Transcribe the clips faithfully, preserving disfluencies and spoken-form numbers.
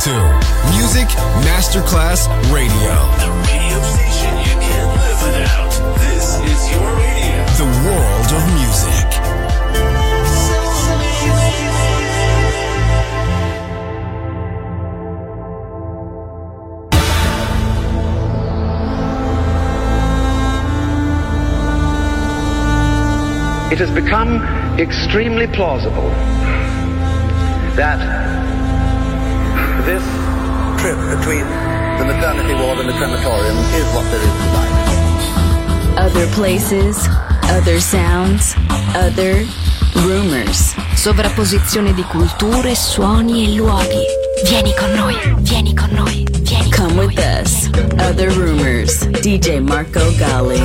to Music Masterclass Radio. The radio station you can't live without. This is your radio. The world of music. It has become extremely plausible that this trip between the maternity ward and the crematorium is what there is to life. Other places, other sounds, other rumors. Sovrapposizione di culture, suoni e luoghi. Vieni con noi, vieni con noi, vieni con Come with us. Other Rumors. D J Marco Gally.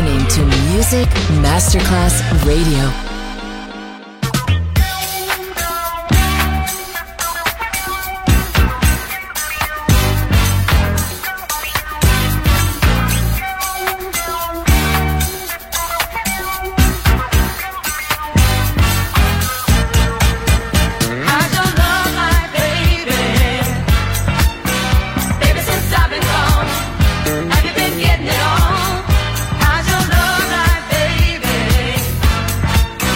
listening to Music Masterclass Radio. Getting it on. How's your love life, baby?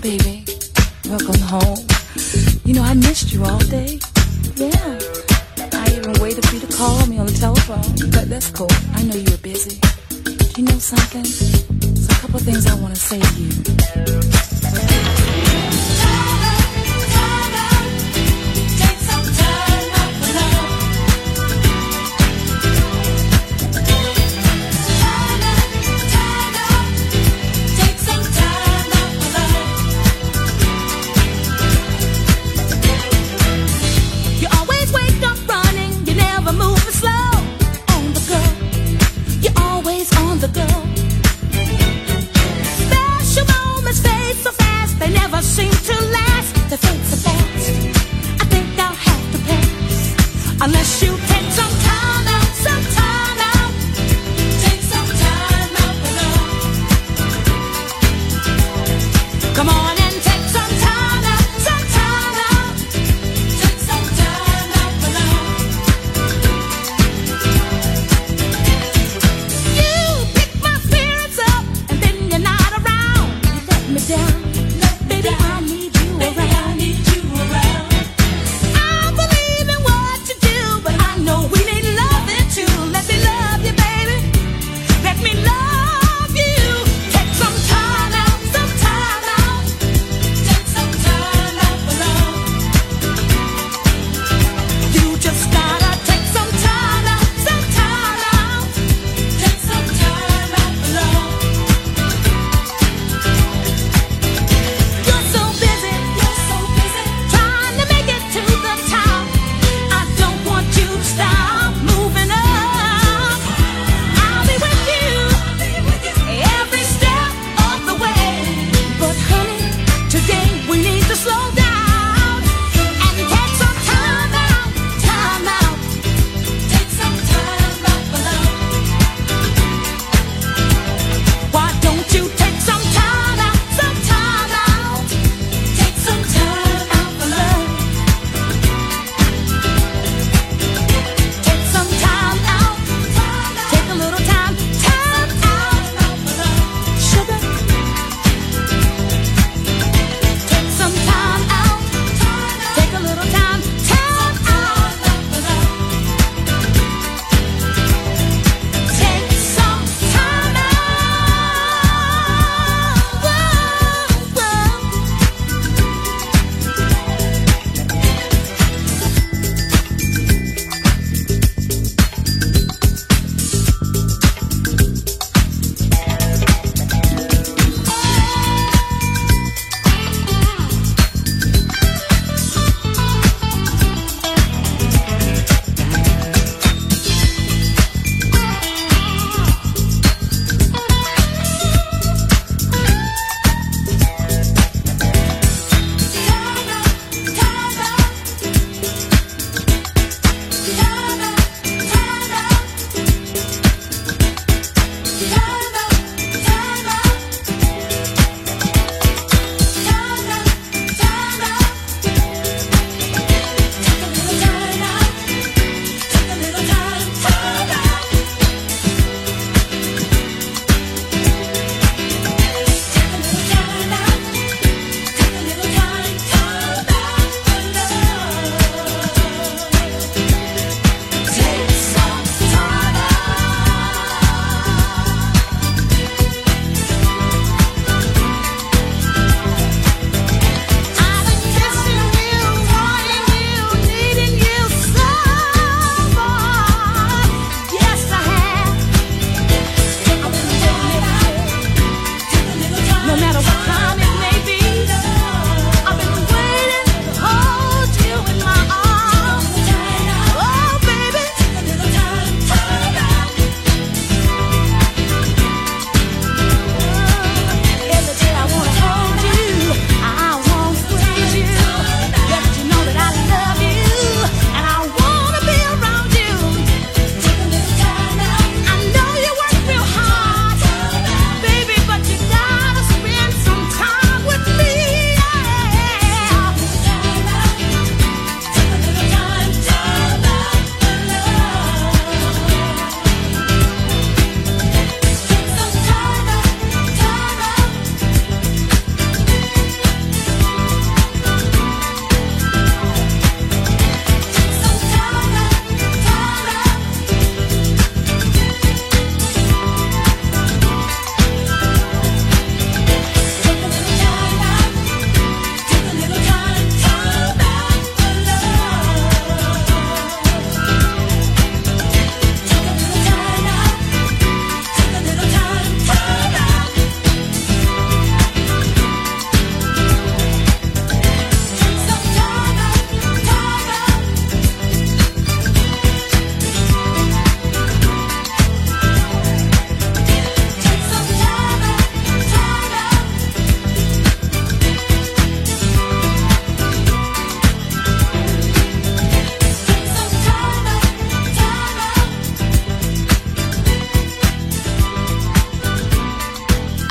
baby. Welcome home. You know, I missed you all day. Yeah. I even waited for you to call me on the telephone. But that's cool. I know you were busy. You know something? There's a couple things I want to say to you. Seem to last, the fates are fast. I think I'll have to pass, unless you take some time out, some time out, take some time out alone. Come on and take some time out, some time out, take some time out alone. You pick my spirits up, and then you're not around. You let me down. I need you around. Baby, I need you around. I believe in what you do, but I know we need loving too. Let me love you, baby. Let me love you. Take some time out, some time out. Take some time out alone. You just gotta take some time out, some time out. Take some time out alone. You're so busy.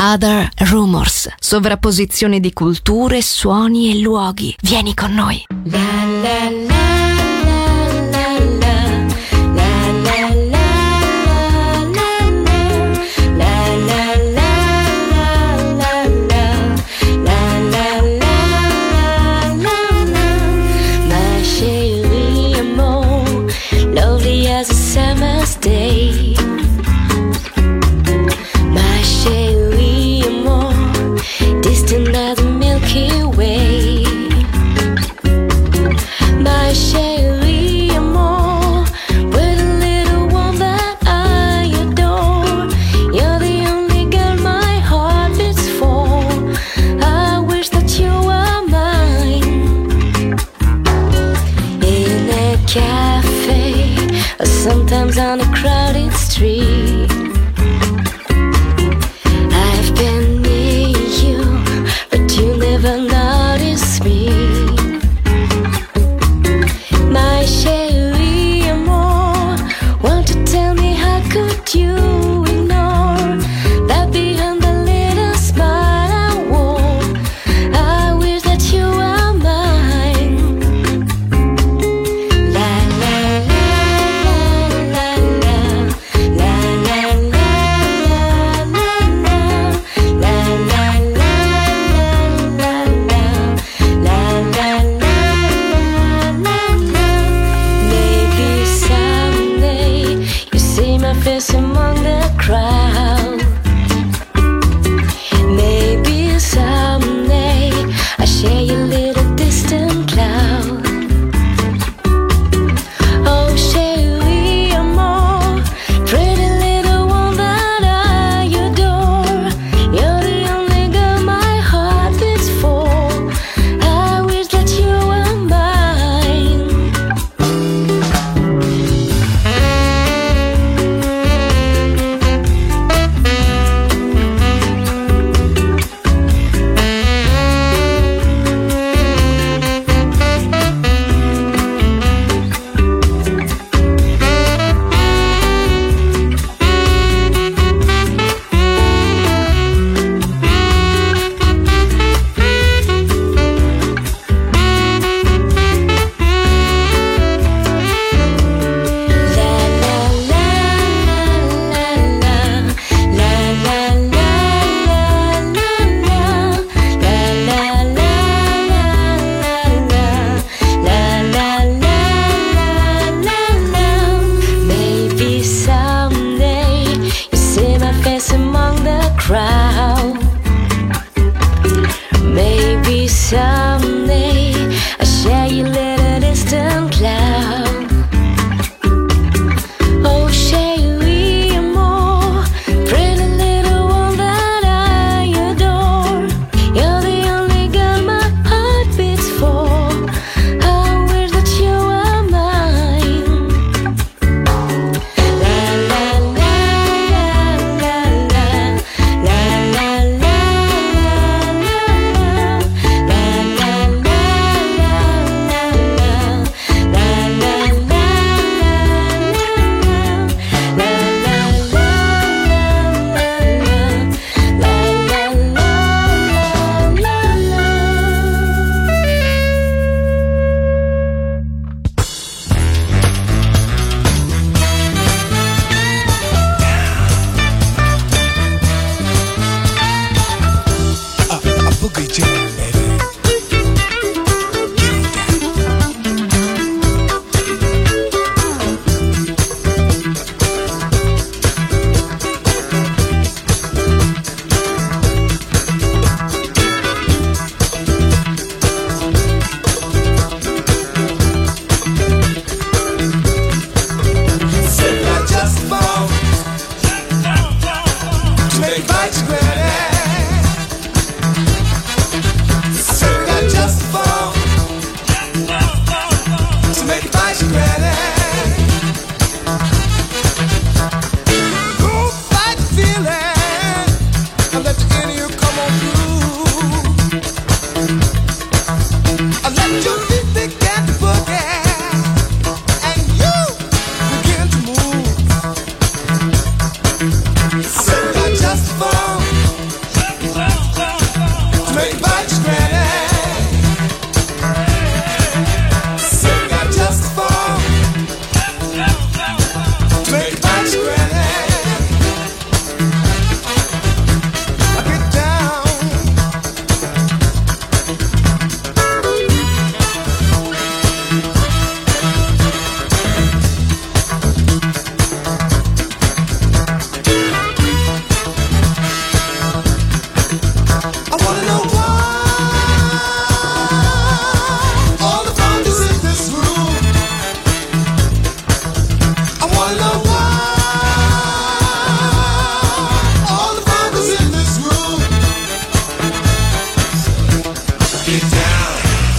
Other Rumors, sovrapposizione di culture, suoni e luoghi. Vieni con noi. La la la. Day. My chérie, more distant than the Milky Way. My chérie. rock it down.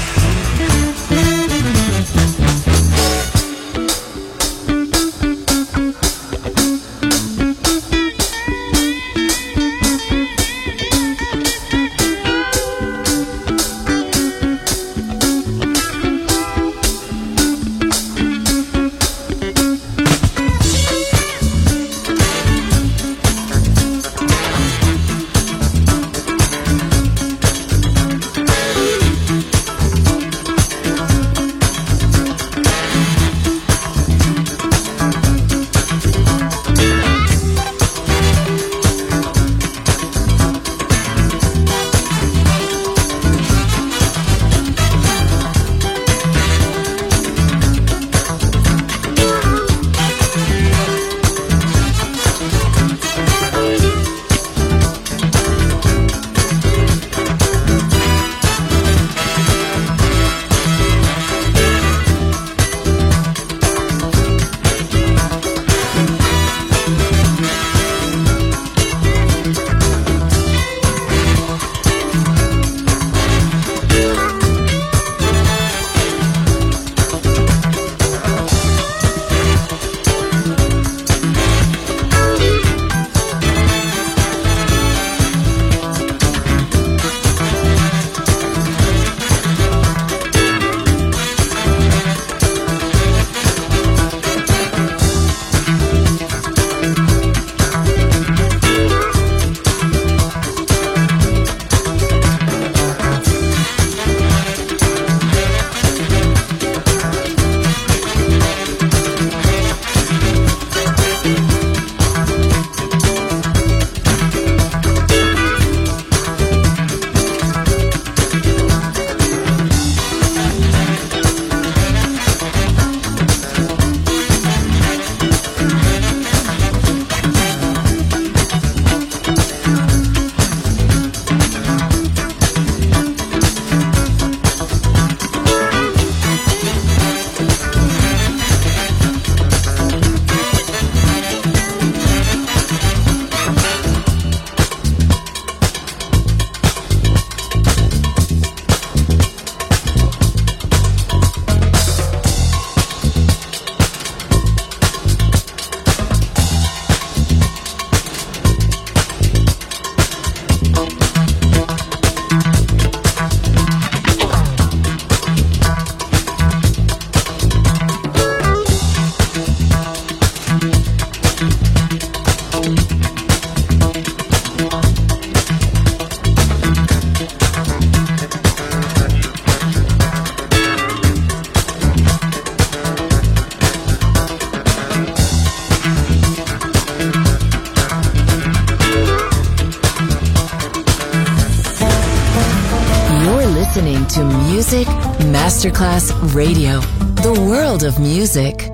listening to Music Masterclass Radio, the world of music.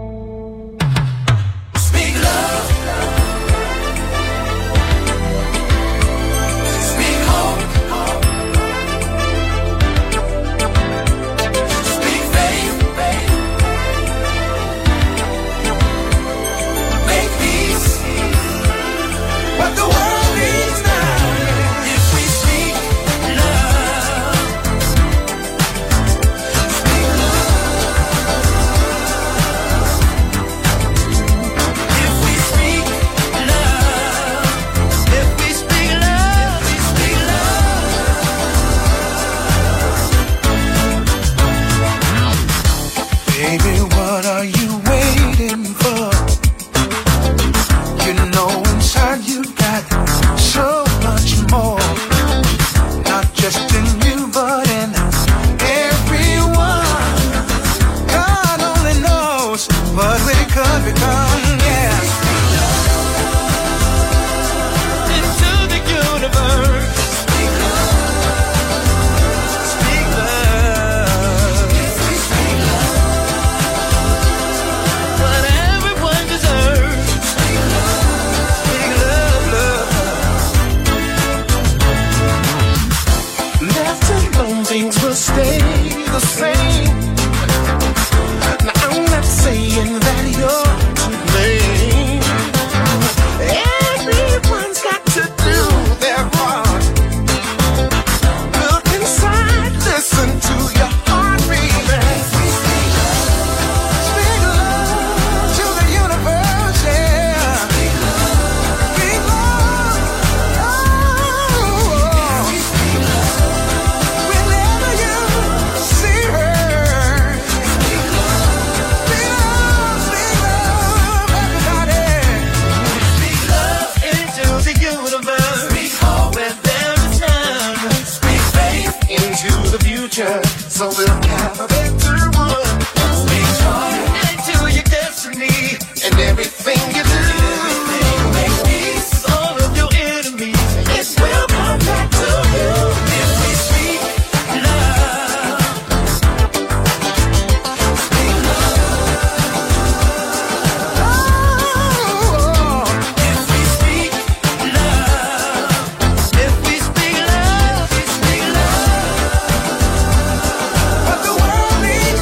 Speak love. Speak hope. Speak faith. Make peace. What the world needs now. If we speak love. Speak love. If we speak love. If we speak love. We speak love. Baby, what are you waiting for? You know inside you got so much more. Not just in you, but in everyone. God only knows what we could become, yeah. Into the universe. Speak love. Speak love. Speak love. What everyone deserves. Speak love, love. Left alone, things will stay the same. Now I'm not saying that you're to blame. Everyone's got to do their part. Look inside this future, so we'll have a better one. Speak joy into your destiny and everything you do. Make peace all of your enemies. It will come back to you if we speak love. Speak love. Oh, if we speak love. If we speak love, we speak love. What the world needs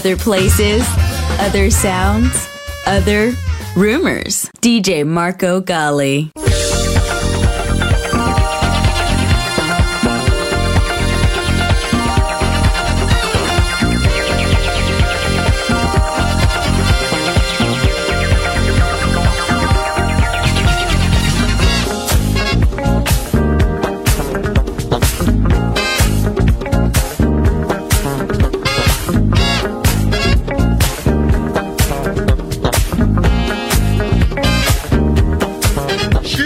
other places, other sounds, other rumors. D J Marco Gally. She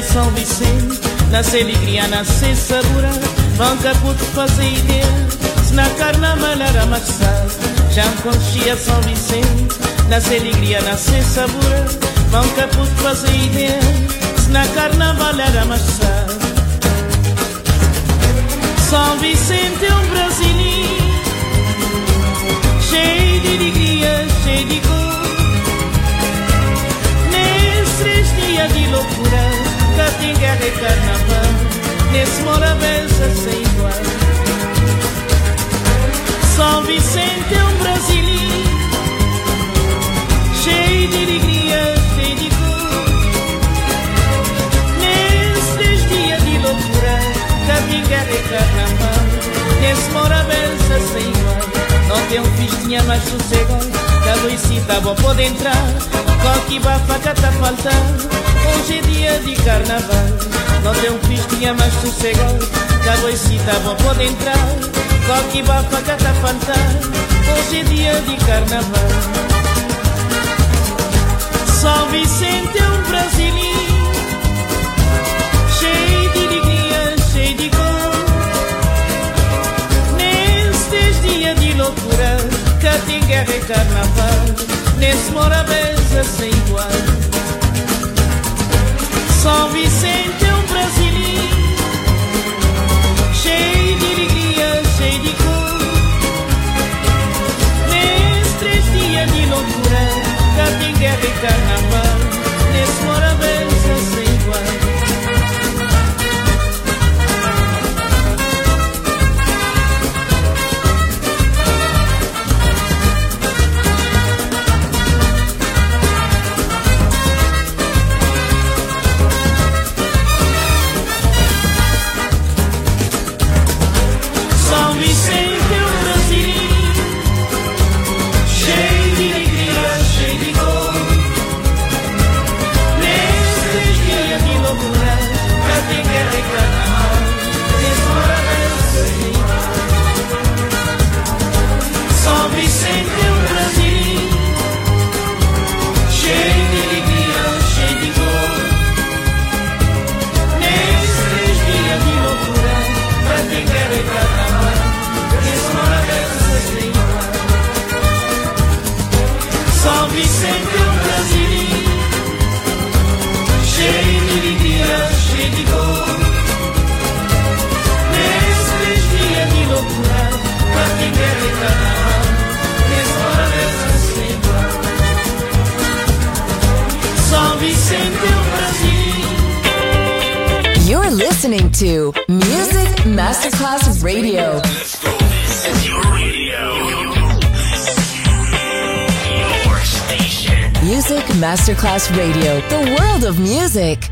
São Vicente, nasce alegria, nasce sabor, nunca pude fazer ideia, se na carnaval era mais tarde. Já me conhecia São Vicente, nasce alegria, nasce sabor, nunca pude fazer ideia, se na carnaval era mais tarde. São Vicente é um brasileiro, cheio de alegria, cheio de cor. Nesses três dias de loucura, cá tem guerra e carnaval, nesse Morabeza sem igual. São Vicente é um brasileiro, cheio de alegria, cheio de cor. Nesses três dias de loucura, cá tem guerra e carnaval, nesse Morabeza sem igual. Não tem um festinha mais sossegado, da Luicita bom pode entrar, qualquer bafaca tá faltando, hoje é dia de carnaval. Não tem um festinha mais sossegado, da Luicita bom pode entrar, qualquer bafaca tá faltando, hoje é dia de carnaval. São Vicente é um brasileiro, cheio de alegria, cheio de cor. Nesses dias de loucura, cá tem guerra e carnaval, nesse Morabeza sem igual. São Vicente é um brasileiro, cheio de alegria, cheio de cor. Nesses três dias de loucura, cá tem guerra e carnaval, nesse Morabeza sem igual. You're listening to Music Masterclass Radio. Let's go. This is your radio. Your station. Music Masterclass Radio. The world of music.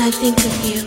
I think of you.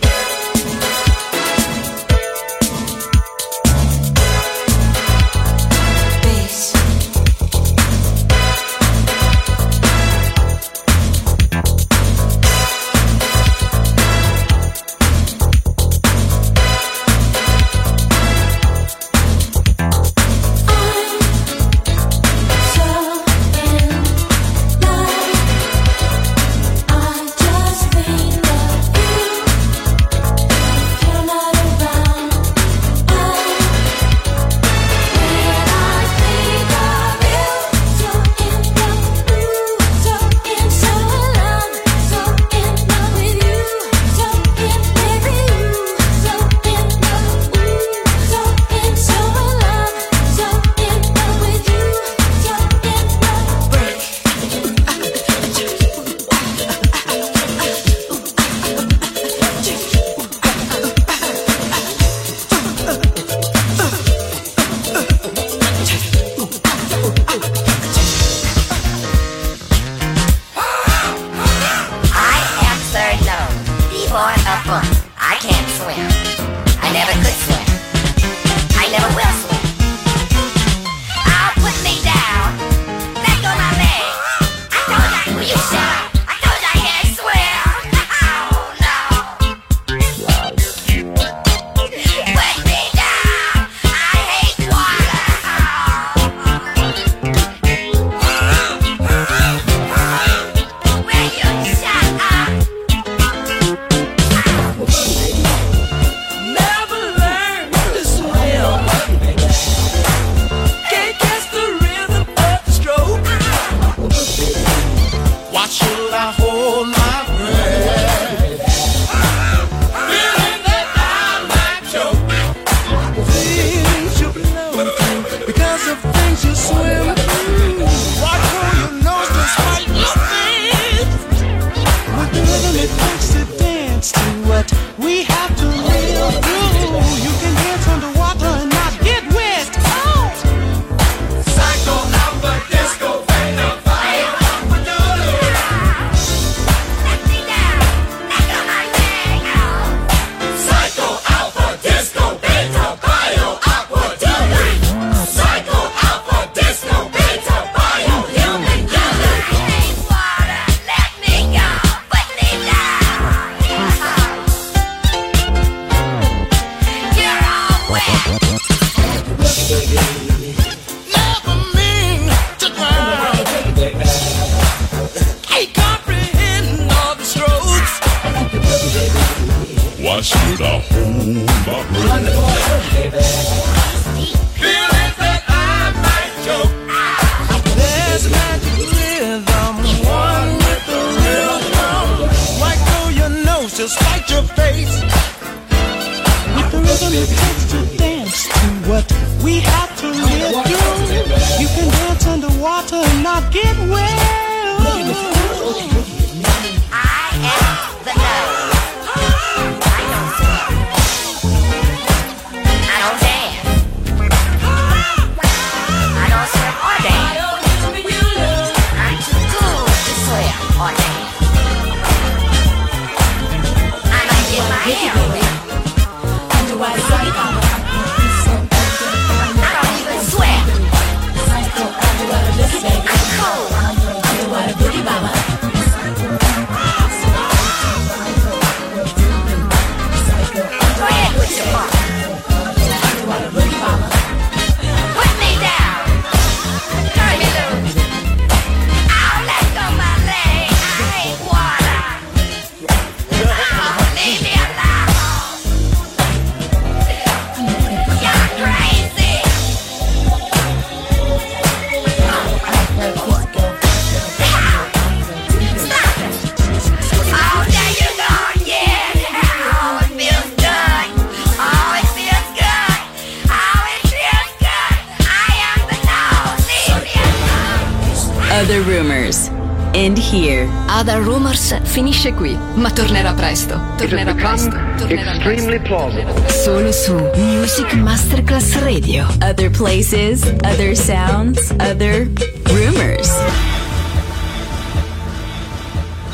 Other Rumors. End here. Other Rumors finisce qui, ma tornerà presto. Tornerà presto. Tornerà extremely plausible. Solo su Music Masterclass Radio. Other places, other sounds, other rumors.